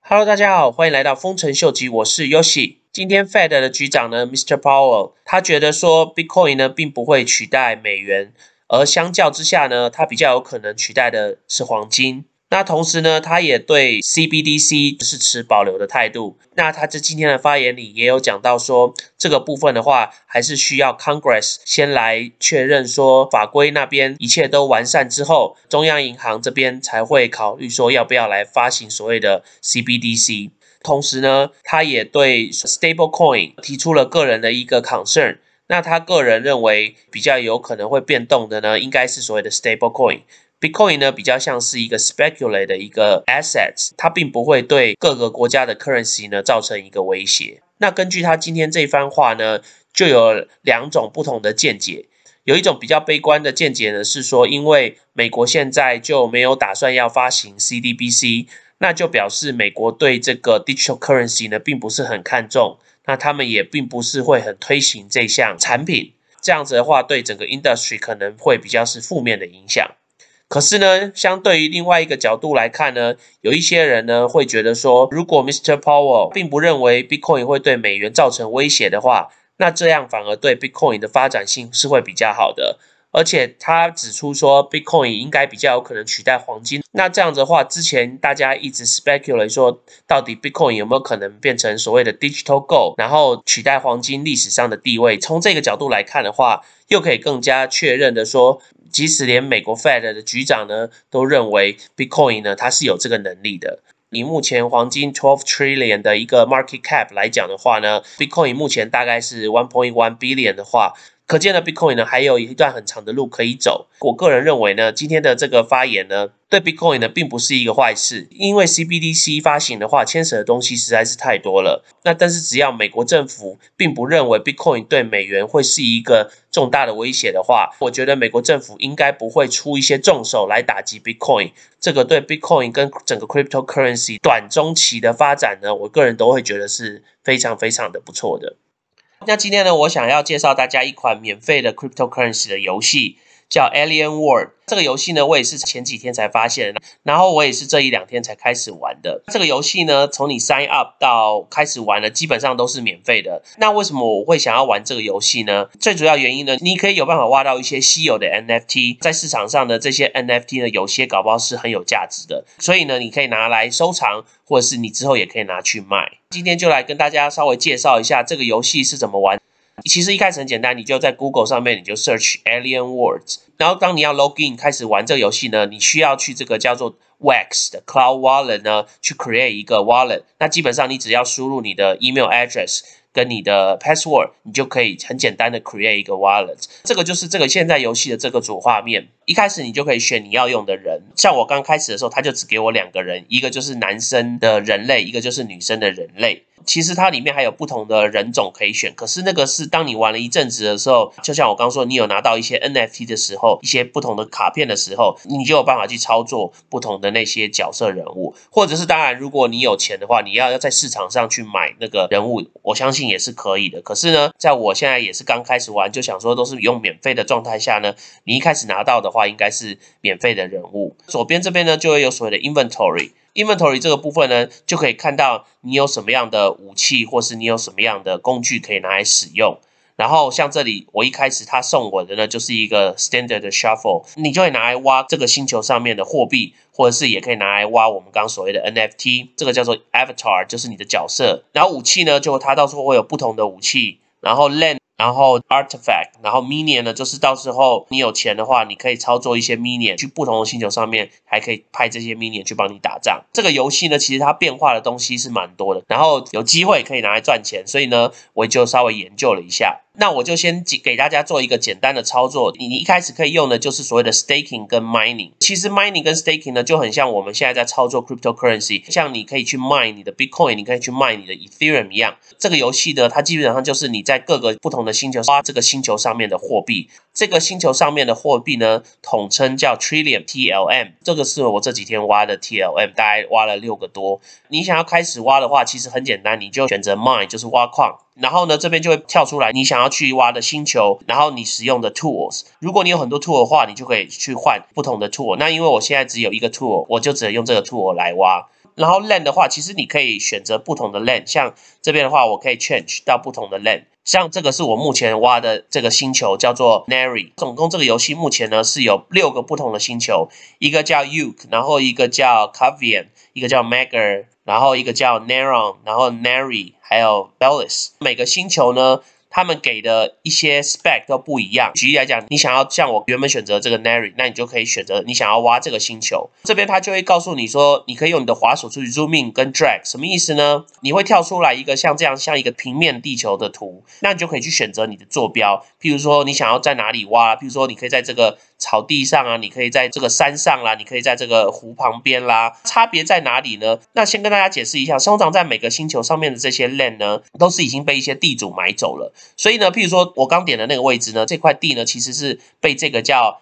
Hello， 大家好，欢迎来到丰臣秀吉，我是 Yoshi。今天 Fed 的局长呢 ，Mr. Powell， 他觉得说 Bitcoin 呢并不会取代美元，而相较之下呢，它比较有可能取代的是黄金。那同时呢，他也对 CBDC 是持保留的态度。那他在今天的发言里也有讲到说，这个部分的话，还是需要 Congress 先来确认说法规那边一切都完善之后，中央银行这边才会考虑说要不要来发行所谓的 CBDC。同时呢，他也对 Stablecoin 提出了个人的一个 concern。那他个人认为比较有可能会变动的呢，应该是所谓的 Stablecoin。Bitcoin 呢比较像是一个 speculate 的一个 assets， 它并不会对各个国家的 currency 呢造成一个威胁。那根据他今天这番话呢，就有两种不同的见解。有一种比较悲观的见解呢，是说因为美国现在就没有打算要发行 CBDC， 那就表示美国对这个 digital currency 呢并不是很看重，那他们也并不是会很推行这项产品。这样子的话，对整个 industry 可能会比较是负面的影响。可是呢，相对于另外一个角度来看呢，有一些人呢会觉得说，如果 Mr. Powell 并不认为 Bitcoin 会对美元造成威胁的话，那这样反而对 Bitcoin 的发展性是会比较好的。而且他指出说 Bitcoin 应该比较有可能取代黄金。那这样子的话，之前大家一直 speculate 说，到底 Bitcoin 有没有可能变成所谓的 digital gold， 然后取代黄金历史上的地位。从这个角度来看的话，又可以更加确认的说，即使连美国 Fed 的局长呢都认为 Bitcoin 呢它是有这个能力的。以目前黄金12 trillion 的一个 market cap 来讲的话呢， Bitcoin 目前大概是 1.1 billion 的话，可见的 Bitcoin 呢还有一段很长的路可以走。我个人认为呢，今天的这个发言呢，对 Bitcoin 呢并不是一个坏事，因为 CBDC 发行的话，牵扯的东西实在是太多了。那但是只要美国政府并不认为 Bitcoin 对美元会是一个重大的威胁的话，我觉得美国政府应该不会出一些重手来打击 Bitcoin。这个对 Bitcoin 跟整个 cryptocurrency 短中期的发展呢，我个人都会觉得是非常非常的不错的。那今天呢，我想要介绍大家一款免费的 cryptocurrency 的游戏，叫 Alien World。这个游戏呢，我也是前几天才发现的，然后我也是这一两天才开始玩的。这个游戏呢，从你 sign up 到开始玩呢，基本上都是免费的。那为什么我会想要玩这个游戏呢？最主要原因呢，你可以有办法挖到一些稀有的 NFT， 在市场上呢，这些 NFT 呢，有些搞不好是很有价值的，所以呢，你可以拿来收藏，或者是你之后也可以拿去卖。今天就来跟大家稍微介绍一下这个游戏是怎么玩。其实一开始很简单，你就在 Google 上面你就 search Alien Worlds， 然后当你要 login 开始玩这个游戏呢，你需要去这个叫做 Wax 的 Cloud Wallet 呢去 create 一个 wallet。 那基本上你只要输入你的 email address 跟你的 password， 你就可以很简单的 create 一个 wallet。 这个就是这个现在游戏的这个主画面。一开始你就可以选你要用的人，像我刚开始的时候，他就只给我2个人，一个就是男生的人类，一个就是女生的人类。其实它里面还有不同的人种可以选，可是那个是当你玩了一阵子的时候，就像我刚说，你有拿到一些 NFT 的时候，一些不同的卡片的时候，你就有办法去操作不同的那些角色人物，或者是当然如果你有钱的话，你要在市场上去买那个人物，我相信也是可以的。可是呢，在我现在也是刚开始玩，就想说都是用免费的状态下呢，你一开始拿到的话应该是免费的人物。左边这边呢就会有所谓的 inventory 这个部分呢，就可以看到你有什么样的武器，或是你有什么样的工具可以拿来使用。然后像这里我一开始他送我的呢就是一个 standard 的 shuffle， 你就会拿来挖这个星球上面的货币，或者是也可以拿来挖我们刚刚所谓的 NFT， 这个叫做 avatar， 就是你的角色。然后武器呢，就它到时候会有不同的武器，然后 land， 然后 artifact， 然后 minion 呢，就是到时候你有钱的话，你可以操作一些 minion 去不同的星球上面，还可以派这些 minion 去帮你打仗。这个游戏呢，其实它变化的东西是蛮多的，然后有机会可以拿来赚钱，所以呢，我就稍微研究了一下。那我就先给大家做一个简单的操作。你一开始可以用的就是所谓的 staking 跟 mining。其实 mining 跟 staking 呢，就很像我们现在在操作 cryptocurrency， 像你可以去 mine 你的 Bitcoin， 你可以去 mine 你的 Ethereum 一样。这个游戏呢，它基本上就是你在各个不同的星球挖这个星球上面的货币。这个星球上面的货币呢，统称叫 Trillium TLM， 这个是我这几天挖的 TLM， 大概挖了6个多。你想要开始挖的话，其实很简单，你就选择 mine， 就是挖矿。然后呢，这边就会跳出来你想要去挖的星球，然后你使用的 tools。如果你有很多 tool 的话，你就可以去换不同的 tool。那因为我现在只有一个 tool， 我就只能用这个 tool 来挖。 然后 land 的话，其实你可以选择不同的 land， 像这边的话，我可以 change 到不同的 land。像这个是我目前挖的这个星球叫做 Nary， 总共这个游戏目前呢是有6个不同的星球，一个叫 Uke， 然后一个叫 Cavian， 一个叫 Magar， 然后一个叫 Neron， 然后 Nary， 还有 Bellis。每个星球呢，他们给的一些 spec 都不一样。举例来讲，你想要像我原本选择这个 Nary， 那你就可以选择你想要挖这个星球。这边它就会告诉你说，你可以用你的滑鼠去 zoom in 跟 drag， 什么意思呢？你会跳出来一个像这样像一个平面地球的图，那你就可以去选择你的坐标。譬如说你想要在哪里挖，譬如说你可以在这个草地上啊，你可以在这个山上啦，你可以在这个湖旁边啦，差别在哪里呢？那先跟大家解释一下，通常在每个星球上面的这些 land 呢，都是已经被一些地主买走了。所以呢，譬如说我刚点的那个位置呢，这块地呢其实是被这个叫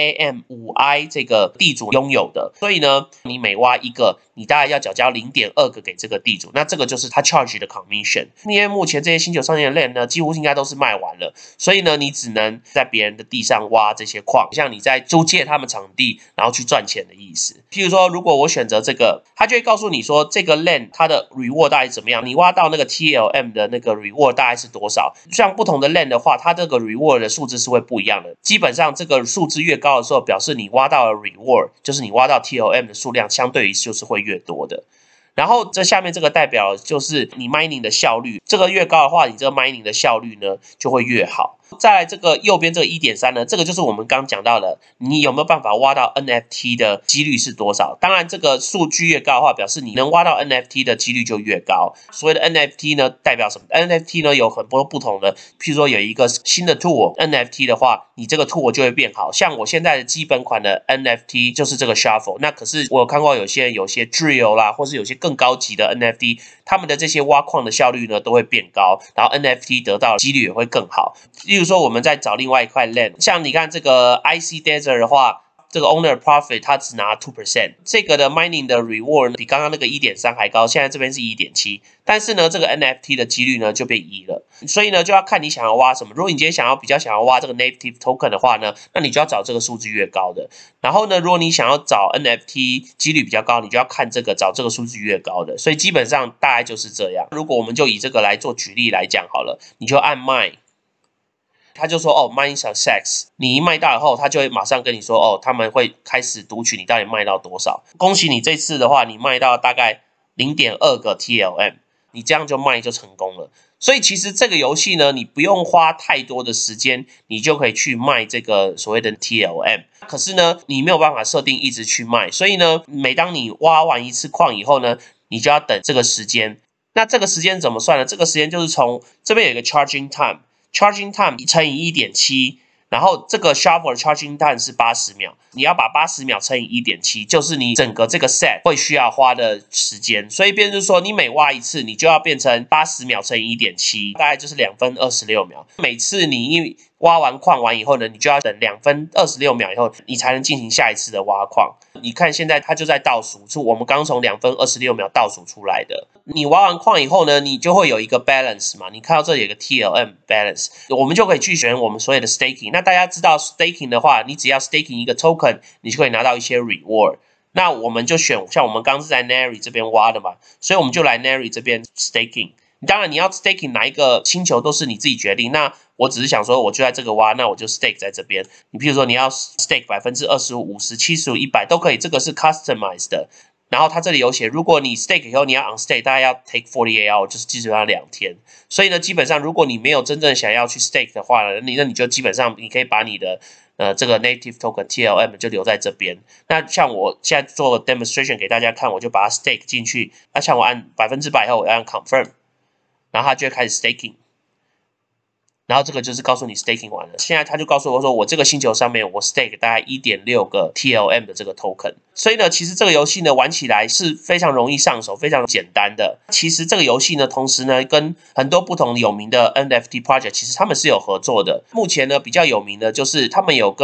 MAM5I 这个地主拥有的。所以呢，你每挖一个，你大概要缴交 0.2 个给这个地主，那这个就是他 charge 的 commission。因为目前这些星球上面的 land 呢，几乎应该都是卖完了，所以呢，你只能在别人的地上挖这些矿，像你在租借他们场地，然后去赚钱的意思。譬如说，如果我选择这个，他就会告诉你说，这个 land 它的 reward 大概怎么样，你挖到那个 TLM 的那个 reward 大概是多少。像不同的 land 的话，它这个 reward 的数字是会不一样的。基本上这个数字越高的时候，表示你挖到的 reward， 就是你挖到 TLM 的数量相对于就是会越多的。然后这下面这个代表就是你 mining 的效率，这个越高的话，你这个 mining 的效率呢就会越好。再来这个右边这个 1.3 呢，这个就是我们刚讲到的，你有没有办法挖到 NFT 的几率是多少？当然这个数据越高的话，表示你能挖到 NFT 的几率就越高。所谓的 NFT 呢，代表什么 ？NFT 呢有很多不同的，譬如说有一个新的 tool NFT 的话，你这个 tool 就会变好。像我现在的基本款的 NFT 就是这个 Shuffle， 那可是我有看过有些Drill 啦，或是有些更高级的 NFT， 他们的这些挖矿的效率呢都会变高，然后 NFT 得到的几率也会更好。例如说我们再找另外一块 land， 像你看这个 IC Desert 的话，这个 owner profit 它只拿 2%， 这个的 mining 的 reward 比刚刚那个 1.3 还高，现在这边是 1.7， 但是呢这个 NFT 的几率呢就变1了。所以呢就要看你想要挖什么。如果你今天比较想要挖这个 native token 的话呢，那你就要找这个数字越高的。然后呢如果你想要找 NFT 几率比较高，你就要看这个找这个数字越高的。所以基本上大概就是这样。如果我们就以这个来做举例来讲好了，你就按 mine。他就说哦 ，mine success， 你一卖到以后，他就会马上跟你说哦，他们会开始读取你到底卖到多少。恭喜你这次的话，你卖到大概 0.2 个 TLM， 你这样就卖就成功了。所以其实这个游戏呢，你不用花太多的时间，你就可以去卖这个所谓的 TLM。可是呢，你没有办法设定一直去卖，所以呢，每当你挖完一次矿以后呢，你就要等这个时间。那这个时间怎么算呢？这个时间就是从这边有一个 charging time。Charging time 乘以 1.7， 然后这个 Shuffle 的 charging time 是80秒，你要把80秒乘以 1.7， 就是你整个这个 set 会需要花的时间。所以变成就是说，你每挖一次，你就要变成80秒乘以 1.7， 大概就是2分26秒。每次你挖完矿完以后呢，你就要等2分26秒以后，你才能进行下一次的挖矿。你看现在它就在倒数，是我们刚从2分26秒倒数出来的。你挖完矿以后呢，你就会有一个 balance 嘛，你看到这里有个 TLM balance， 我们就可以去选我们所谓的 staking。那大家知道 staking 的话，你只要 staking 一个 token， 你就可以拿到一些 reward。那我们就选像我们刚是在 Nary 这边挖的嘛，所以我们就来 Nary 这边 staking。当然你要 staking 哪一个星球都是你自己决定。那我只是想说，我就在这个挖，那我就 stake 在这边。你譬如说你要 stake 25%、50%、75%、100%都可以，这个是 customized 的。然后它这里有写，如果你 stake 以后你要 unstake， 大概要 take 48 hours， 就是基本上2天。所以呢，基本上如果你没有真正想要去 stake 的话呢，那你就基本上你可以把你的这个 native token TLM 就留在这边。那像我现在做 demonstration 给大家看，我就把它 stake 进去。那像我按100%以后，我要按 confirm， 然后它就会开始 staking。然后这个就是告诉你 staking 完了，现在他就告诉我说，我这个星球上面我 stake 大概 1.6 个 TLM 的这个 token。所以呢，其实这个游戏呢玩起来是非常容易上手，非常简单的。其实这个游戏呢，同时呢跟很多不同有名的 NFT project 其实他们是有合作的。目前呢比较有名的就是他们有跟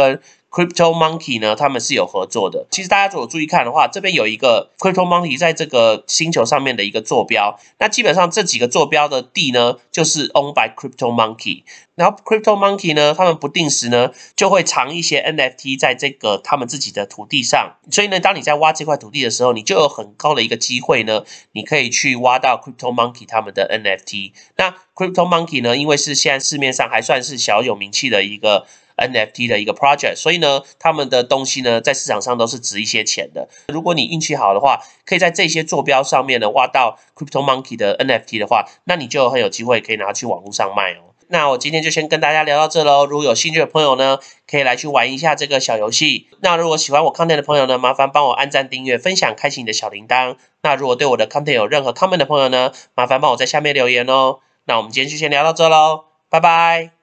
Crypto Monkey 呢，他们是有合作的。其实大家如果注意看的话，这边有一个 Crypto Monkey 在这个星球上面的一个坐标，那基本上这几个坐标的地呢，就是 owned by Crypto Monkey。然后 Crypto Monkey 呢，他们不定时呢就会藏一些 NFT 在这个他们自己的土地上，所以呢，当你在挖这块土地的时候，你就有很高的一个机会呢，你可以去挖到 Crypto Monkey 他们的 NFT。那 Crypto Monkey 呢，因为是现在市面上还算是小有名气的一个 NFT 的一个 project， 所以呢，他们的东西呢，在市场上都是值一些钱的。如果你运气好的话，可以在这些坐标上面呢挖到 Crypto Monkey 的 NFT 的话，那你就很有机会可以拿去网络上卖哦。那我今天就先跟大家聊到这喽。如果有兴趣的朋友呢，可以来去玩一下这个小游戏。那如果喜欢我 content 的朋友呢，麻烦帮我按赞、订阅、分享、开启你的小铃铛。那如果对我的 content 有任何 comment 的朋友呢，麻烦帮我在下面留言哦。那我们今天就先聊到这喽，拜拜。